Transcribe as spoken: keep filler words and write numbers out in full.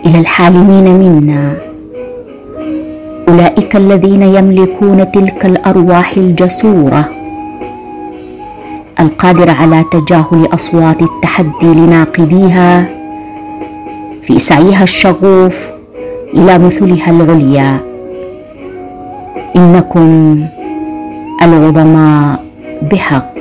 إلى الحالمين منا، أولئك الذين يملكون تلك الأرواح الجسورة القادرة على تجاهل أصوات التحدي لناقديها في سعيها الشغوف إلى مثلها العليا. إنكم العظماء بحق.